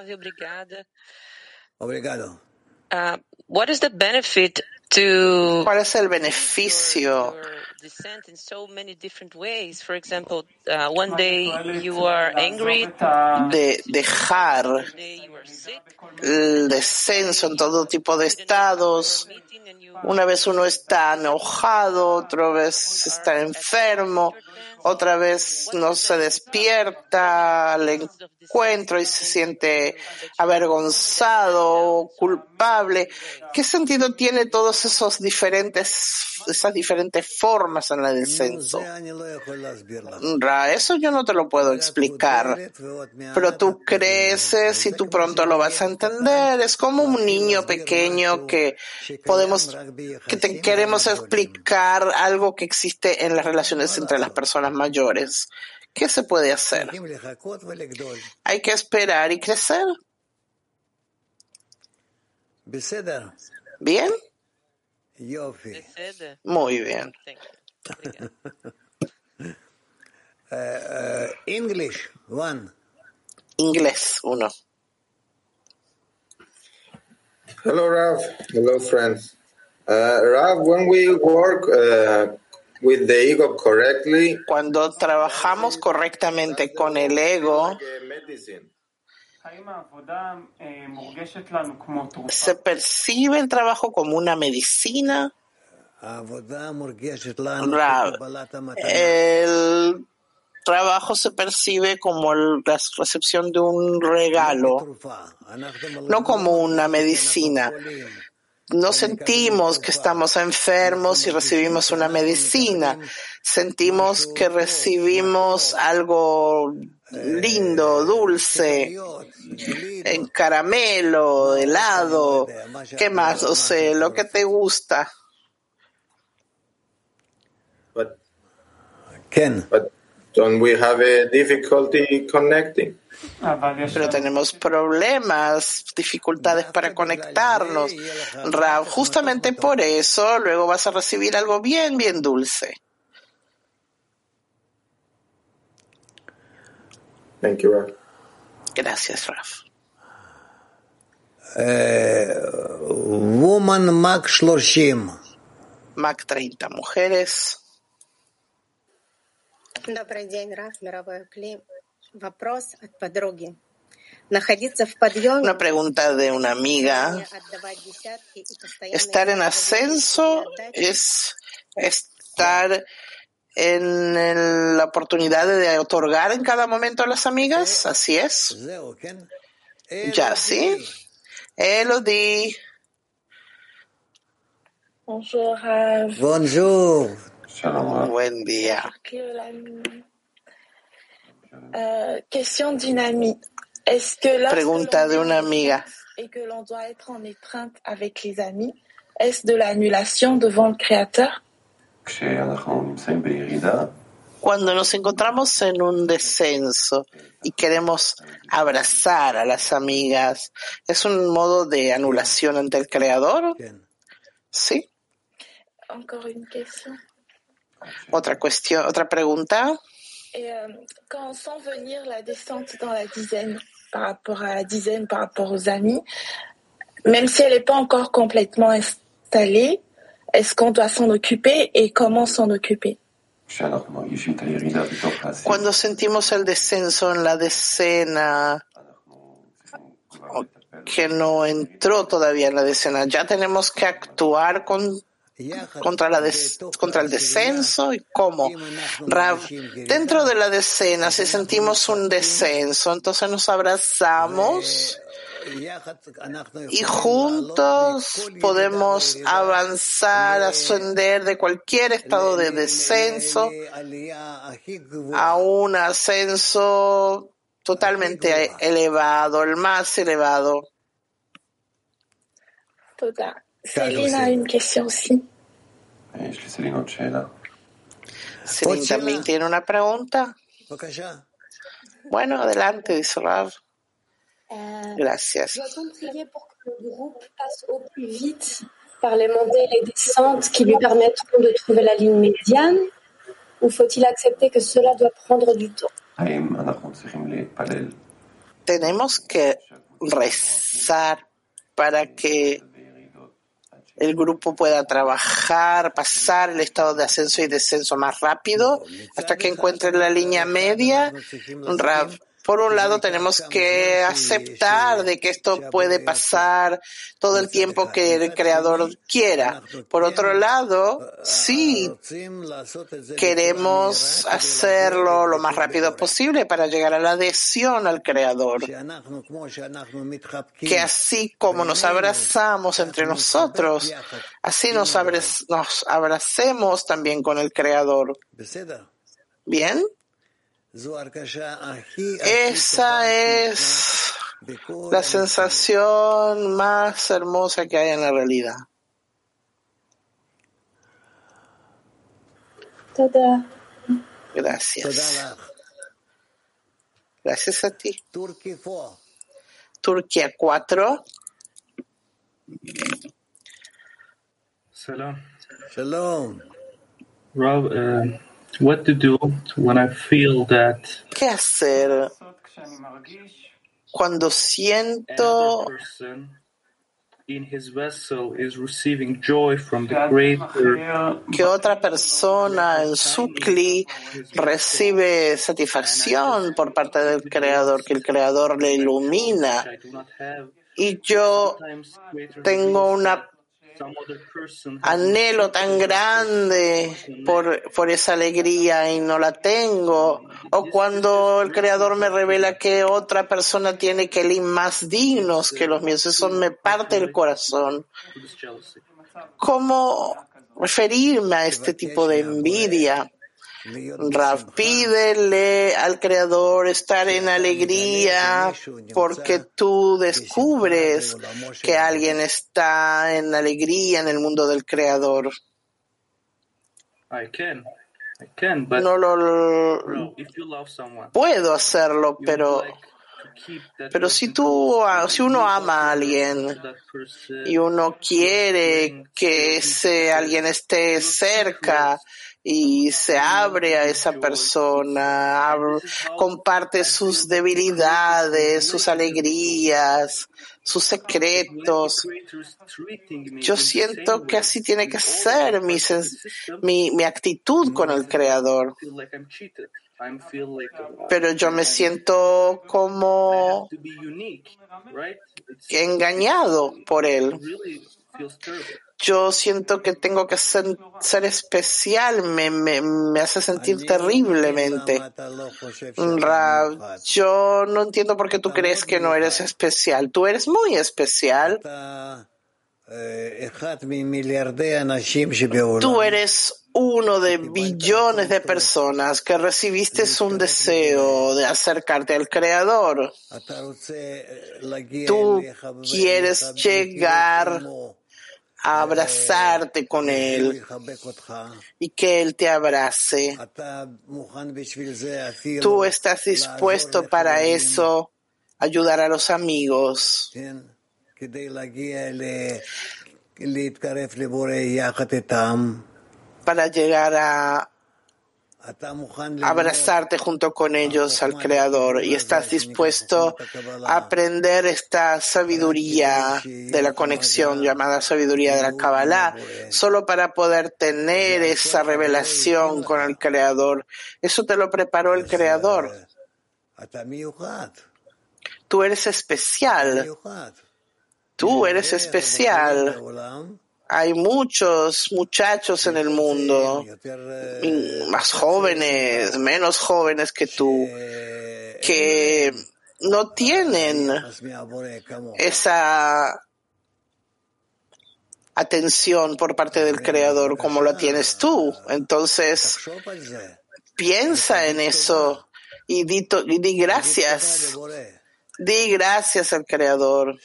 Obrigado.
Uh, what is the benefit to
¿Cuál es el beneficio?
Descent in so many different ways. For example, uh, one day you are angry.
De dejar el descenso en todo tipo de estados. Una vez uno está enojado, otra vez está enfermo, otra vez no se despierta al encuentro y se siente avergonzado, culpable. ¿Qué sentido tiene todos esos diferentes, esas diferentes formas en el descenso? Eso yo no te lo puedo explicar, pero tú creces y tú pronto lo vas a entender. Es como un niño pequeño que podemos, que te queremos explicar algo que existe en las relaciones entre las personas mayores. ¿Qué se puede hacer? Hay que esperar y crecer. ¿Bien? Muy bien.
uh, uh, English, one.
Inglés, uno.
Hello, Rav. Hello, friends. Uh, Rav, when we work uh, with the ego correctly,
cuando trabajamos correctamente con el ego, ¿se percibe el trabajo como una medicina? El trabajo se percibe como la recepción de un regalo, no como una medicina. No sentimos que estamos enfermos y recibimos una medicina. Sentimos que recibimos algo lindo, dulce, en caramelo, helado, ¿qué más? O sea, lo que te gusta.
But, Ken. But don't we have a difficulty connecting?
Pero tenemos problemas, dificultades para conectarnos. Rav, justamente por eso, luego vas a recibir algo bien, bien dulce.
Thank you, Rav.
Gracias, Rav.
Uh, woman Mac Shloshim.
Mac treinta, mujeres.
Добрый день, Рав, мировой клим. Вопрос от подруги. Находиться в подъеме.
Una pregunta de una amiga. Estar en ascenso es estar en el, la oportunidad de otorgar en cada momento a las amigas. Así es. Ya, ¿sí? Elodie.
Bonjour, Rav.
Bonjour.
Buen día.
Euh, question d'une amie. Est-ce que lorsque
Pregunta de una amiga.
et que l'on doit être en étreinte avec les amis, est-ce de l'annulation devant le Créateur?
Cuando nos encontramos en un descenso y queremos abrazar a las amigas, ¿es un modo de anulación ante el Creador? Sí.
Encore une question.
Otra cuestión, otra pregunta.
Et euh, quand on sent venir la descente dans la dizaine, par rapport à la dizaine, par rapport aux amis, même si elle n'est pas encore complètement installée, est-ce qu'on doit s'en occuper et comment s'en occuper?
Cuando sentimos el descenso en la decena, que no entró todavía en la decena, ya tenemos que actuar con contra la des, contra el descenso. ¿Y cómo? Rav, dentro de la decena, si sentimos un descenso, entonces nos abrazamos y juntos podemos avanzar, ascender de cualquier estado de descenso a un ascenso totalmente elevado, el más elevado.
Total. Céline a une question aussi.
Céline también tiene una pregunta. Bueno, adelante, dice Rav. Gracias.
Doit-on prier pour que le groupe passe au plus vite par les montées et les descentes qui lui permettront de trouver la ligne médiane, ou faut-il accepter que cela doit prendre du temps?
Tenemos que rezar para que el grupo pueda trabajar, pasar el estado de ascenso y descenso más rápido hasta que encuentre la línea media. Rav, por un lado tenemos que aceptar de que esto puede pasar todo el tiempo que el Creador quiera. Por otro lado, sí queremos hacerlo lo más rápido posible para llegar a la adhesión al Creador. Que así como nos abrazamos entre nosotros, así nos, abra- nos abracemos también con el Creador. ¿Bien? Esa es la sensación más hermosa que hay en la realidad.
Toda.
Gracias. Gracias a ti. Turquía cuatro.
Salam.
Shalom.
Rob, uh, what to do when I feel that
¿Qué hacer cuando siento
another person in his vessel is receiving joy from the greater
que otra persona en su cli recibe satisfacción por parte del Creador, que el Creador le ilumina, y yo tengo un anhelo tan grande por, por esa alegría y no la tengo, o cuando el Creador me revela que otra persona tiene kelim más dignos que los míos, eso me parte el corazón. ¿Cómo referirme a este tipo de envidia? Rav, pídele al Creador estar en alegría porque tú descubres que alguien está en alegría en el mundo del Creador.
I can.
No lo puedo hacerlo, pero pero si tú, si uno ama a alguien y uno quiere que ese alguien esté cerca y se abre a esa persona, abre, comparte sus debilidades, sus alegrías, sus secretos. Yo siento que así tiene que ser mi, mi, mi actitud con el Creador. Pero yo me siento como engañado por él. Yo siento que tengo que ser, ser especial, me, me, me hace sentir terriblemente. Rav, yo no entiendo por qué tú crees que no eres especial. Tú eres muy especial. Tú eres uno de billones de personas que recibiste un deseo de acercarte al Creador. Tú quieres llegar a abrazarte con Él y que Él te abrace. Tú estás dispuesto para eso, ayudar a los amigos, para llegar a abrazarte junto con ellos al Creador, y estás dispuesto a aprender esta sabiduría de la conexión llamada sabiduría de la Kabbalah, solo para poder tener esa revelación con el Creador. Eso te lo preparó el Creador. Tú eres especial. Tú eres especial. Hay muchos muchachos en el mundo, más jóvenes, menos jóvenes que tú, que no tienen esa atención por parte del Creador como la tienes tú. Entonces, piensa en eso y di, y di gracias. Di gracias al Creador.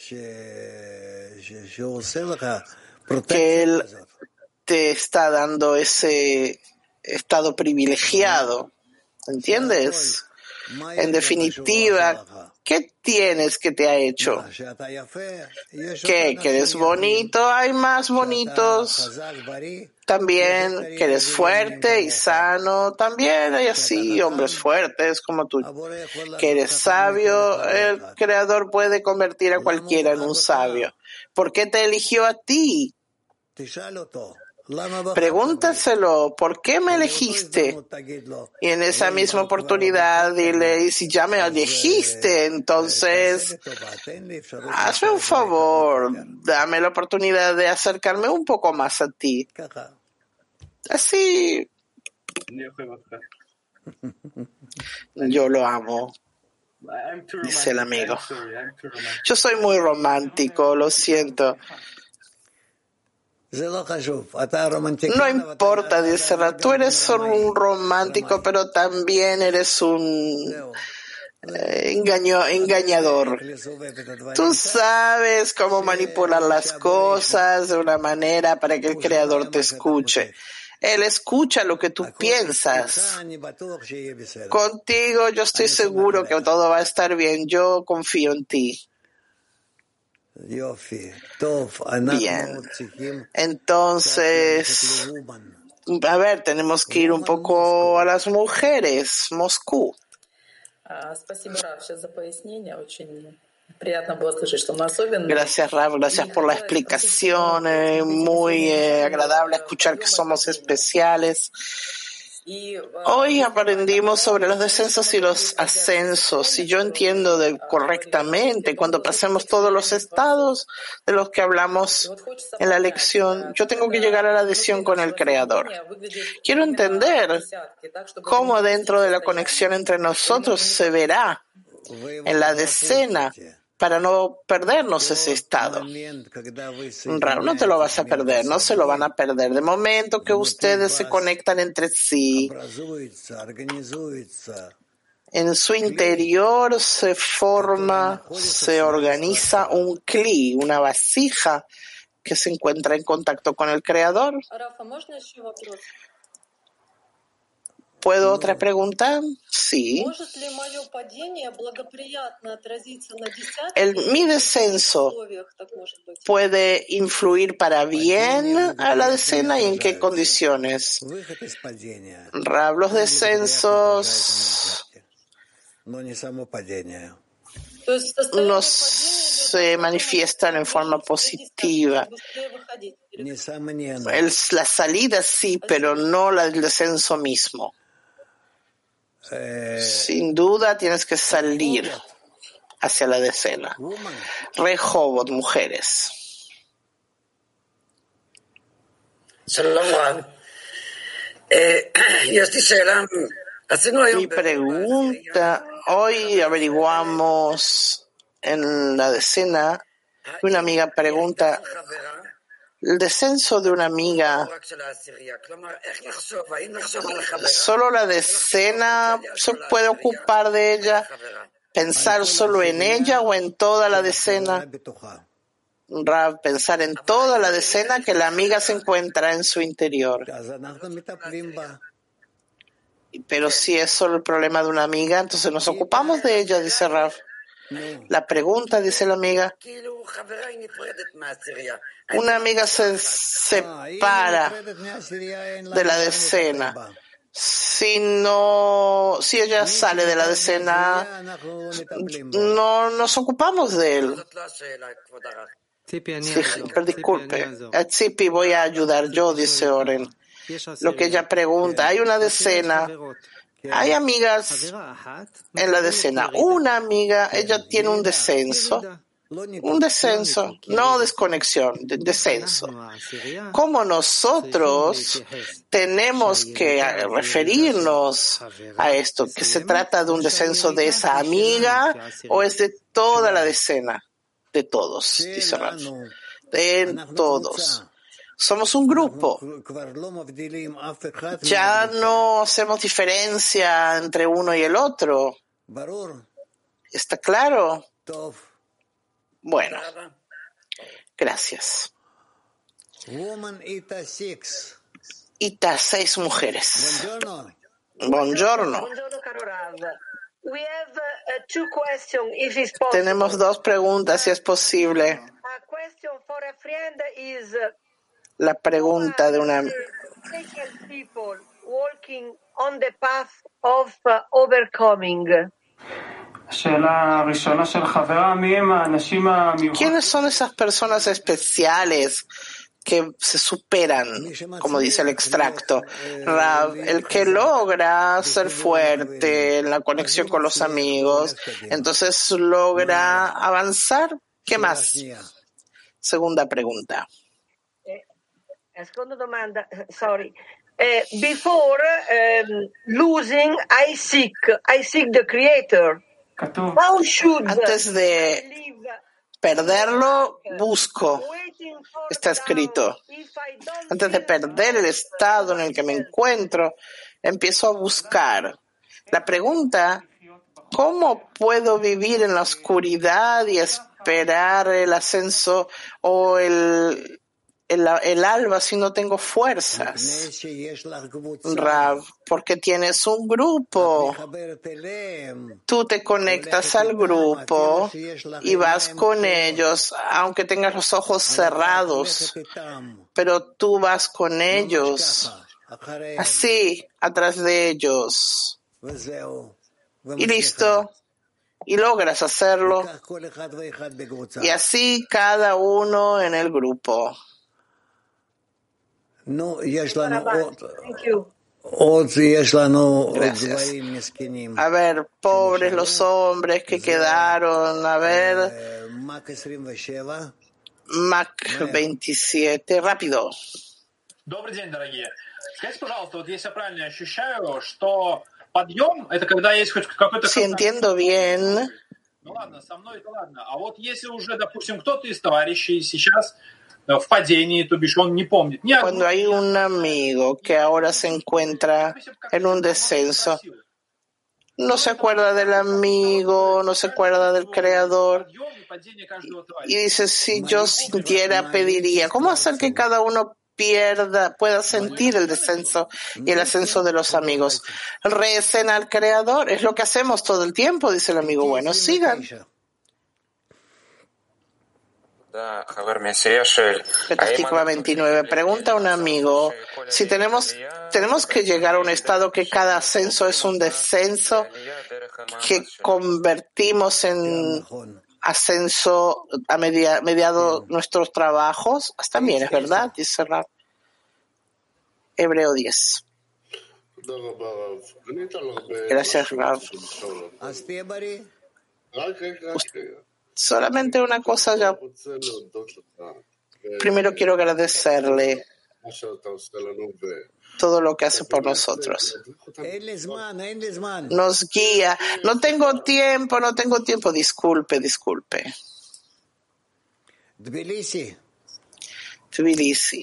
Que Él te está dando ese estado privilegiado, ¿entiendes? En definitiva, ¿qué tienes que te ha hecho? ¿Qué? ¿Que eres bonito? Hay más bonitos. También que eres fuerte y sano. También hay así hombres fuertes como tú. Que eres sabio. El Creador puede convertir a cualquiera en un sabio. ¿Por qué te eligió a ti? Pregúntaselo, ¿por qué me elegiste? Y en esa misma oportunidad dile, y si ya me elegiste, entonces hazme un favor, dame la oportunidad de acercarme un poco más a ti. Así, yo lo amo, dice el amigo. Yo soy muy romántico, lo siento. No importa, dice Ra, tú eres solo un romántico, pero también eres un eh, engaño, engañador. Tú sabes cómo manipular las cosas de una manera para que el Creador te escuche. Él escucha lo que tú piensas. Contigo yo estoy seguro que todo va a estar bien. Yo confío en ti. Bien, entonces, a ver, tenemos que ir un poco a las mujeres, Moscú. Gracias, Rav, gracias por la explicación, eh, muy eh, agradable escuchar que somos especiales. Hoy aprendimos sobre los descensos y los ascensos. Si yo entiendo de, correctamente, cuando pasemos todos los estados de los que hablamos en la lección, yo tengo que llegar a la adhesión con el Creador. Quiero entender cómo dentro de la conexión entre nosotros se verá en la decena para no perdernos ese estado. Raro, no te lo vas a perder, no se lo van a perder. De momento que ustedes se conectan entre sí, en su interior se forma, se organiza un kli, una vasija que se encuentra en contacto con el Creador. ¿Puedo otra pregunta? Sí. El, mi descenso puede influir para bien a la decena y en qué condiciones. Rav, los descensos no se manifiestan en forma positiva. El, la salida sí, pero no la, el descenso mismo. Sin duda tienes que salir hacia la decena. Rehobot, mujeres. Mi pregunta, hoy averiguamos en la decena, una amiga pregunta, el descenso de una amiga, ¿solo la decena se puede ocupar de ella? ¿Pensar solo en ella o en toda la decena? Rav, pensar en toda la decena que la amiga se encuentra en su interior. Pero si es solo el problema de una amiga, entonces nos ocupamos de ella, dice Rav. La pregunta, dice la amiga, una amiga se separa de la decena. Si no, si ella sale de la decena, no nos ocupamos de él. Sí, pero disculpe, a Tzipi voy a ayudar yo, dice Oren. Lo que ella pregunta, hay una decena, hay amigas en la decena. Una amiga, ella tiene un descenso, un descenso, no desconexión, descenso. Como nosotros tenemos que referirnos a esto, que se trata de un descenso de esa amiga o es de toda la decena, de todos, dice Rav, de todos. Somos un grupo. Ya no hacemos diferencia entre uno y el otro. ¿Está claro? Bueno, gracias. Ita, seis mujeres. Buongiorno. Tenemos dos preguntas, si es posible. La pregunta de una ¿quiénes son esas personas especiales que se superan, como dice el extracto? Rav, el que logra ser fuerte en la conexión con los amigos, entonces logra avanzar. ¿Qué más? Segunda pregunta.
Seconda domanda, sorry. Uh, before um, losing, I seek, I seek the Creator. How should
Antes de perderlo, busco. Está escrito. Antes de perder el estado en el que me encuentro, empiezo a buscar. La pregunta, ¿cómo puedo vivir en la oscuridad y esperar el ascenso o el El, el alba si no tengo fuerzas? Rav, porque tienes un grupo. Tú te conectas al grupo y vas con ellos, aunque tengas los ojos cerrados, pero tú vas con ellos, así, atrás de ellos. Y listo. Y logras hacerlo. Y así cada uno en el grupo. Gracias. A ver, pobres los hombres que quedaron. A ver, Mac veintisiete, rápido.
Добрый день, дорогие. Скажите, пожалуйста, вот если я правильно ощущаю, что подъем — это когда есть хоть какой-то...
Si entiendo bien.
Ну ладно, со мной это ладно. А вот если уже, допустим, кто-то из товарищей сейчас в падении, то бишь он не помнит.
Cuando hay un amigo que ahora se encuentra en un descenso, no se acuerda del amigo, no se acuerda del creador, y dice, si yo sintiera, pediría. ¿Cómo hacer que cada uno pierda, pueda sentir el descenso y el ascenso de los amigos. Recen al Creador, es lo que hacemos todo el tiempo, dice el amigo bueno. Sigan. Petastikva veintinueve. Pregunta a un amigo si tenemos, tenemos que llegar a un estado que cada ascenso es un descenso que convertimos en ascenso a media, mediado nuestros trabajos. También es verdad, dice Rav. Hebreo diez. Gracias, Rav. Solamente una cosa ya. Primero quiero agradecerle todo lo que hace por nosotros. Nos guía. No tengo tiempo, no tengo tiempo. Disculpe, disculpe.
Tbilisi.
Tbilisi.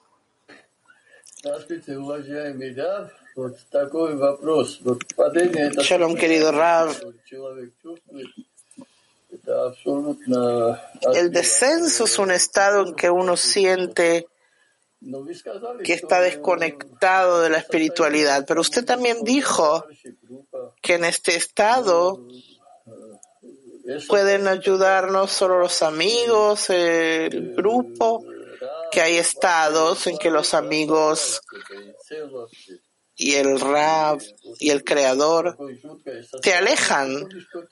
Shalom, querido Rav. El descenso es un estado en que uno siente que está desconectado de la espiritualidad, pero usted también dijo que en este estado pueden ayudarnos solo los amigos, el grupo, que hay estados en que los amigos y el Rav y el Creador te alejan.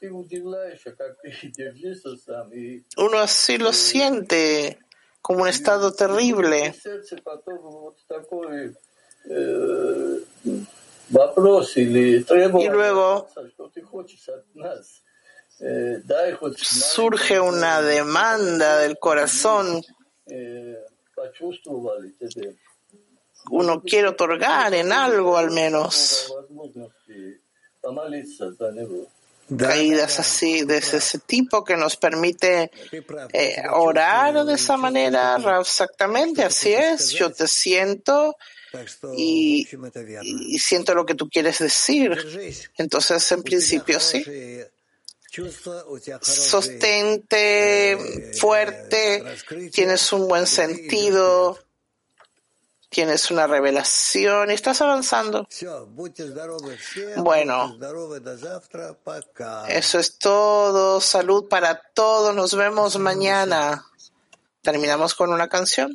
Uno así lo siente como un estado terrible. Y luego surge una demanda del corazón. Uno quiere otorgar en algo al menos. Caídas así, de ese tipo que nos permite eh, orar de esa manera. Exactamente, así es. Yo te siento y, y siento lo que tú quieres decir. Entonces, en principio, sí. Sostente, fuerte, tienes un buen sentido. Tienes una revelación y estás avanzando. Bueno, eso es todo. Salud para todos. Nos vemos mañana. Terminamos con una canción.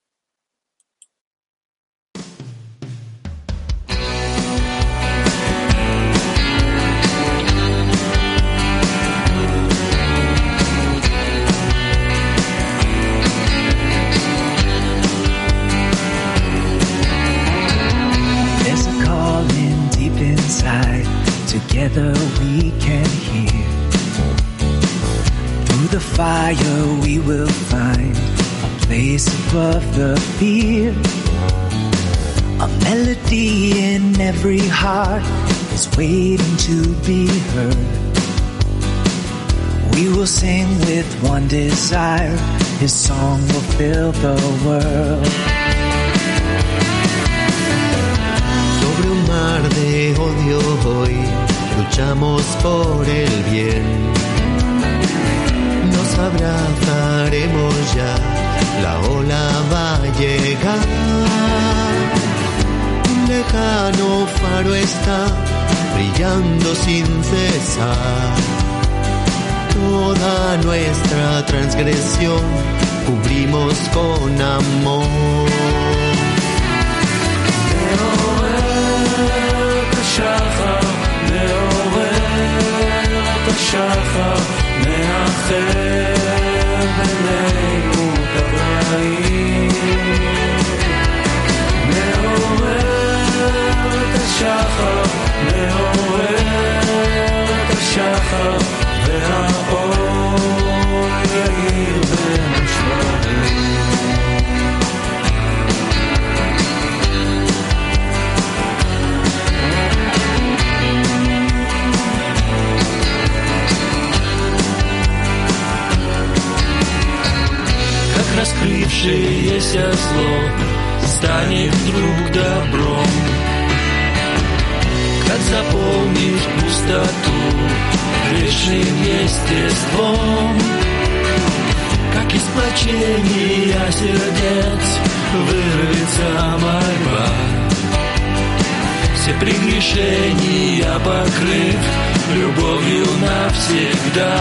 Together we can hear. Through the fire we will find a place above the fear. A melody in every heart is waiting to be heard. We will sing with one desire, His song will fill the world.
Sobre un mar de odio hoy luchamos por el bien. Nos abrazaremos ya, la ola va a llegar. Un lejano faro está brillando sin cesar. Toda nuestra transgresión cubrimos con amor.
השחר מאחר בינינו ברעים מעורר את השחר מעורר את השחר והאור יאיר בין השמרים раскрывшееся зло станет вдруг добром, как заполнишь пустоту грешным естеством, как из сплочения сердец вырвется мольба. Все прегрешения покрыв любовью навсегда.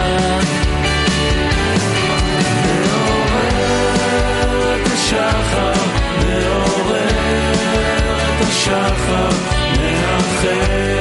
מעורר את השחר, מעורר את השחר, מאחר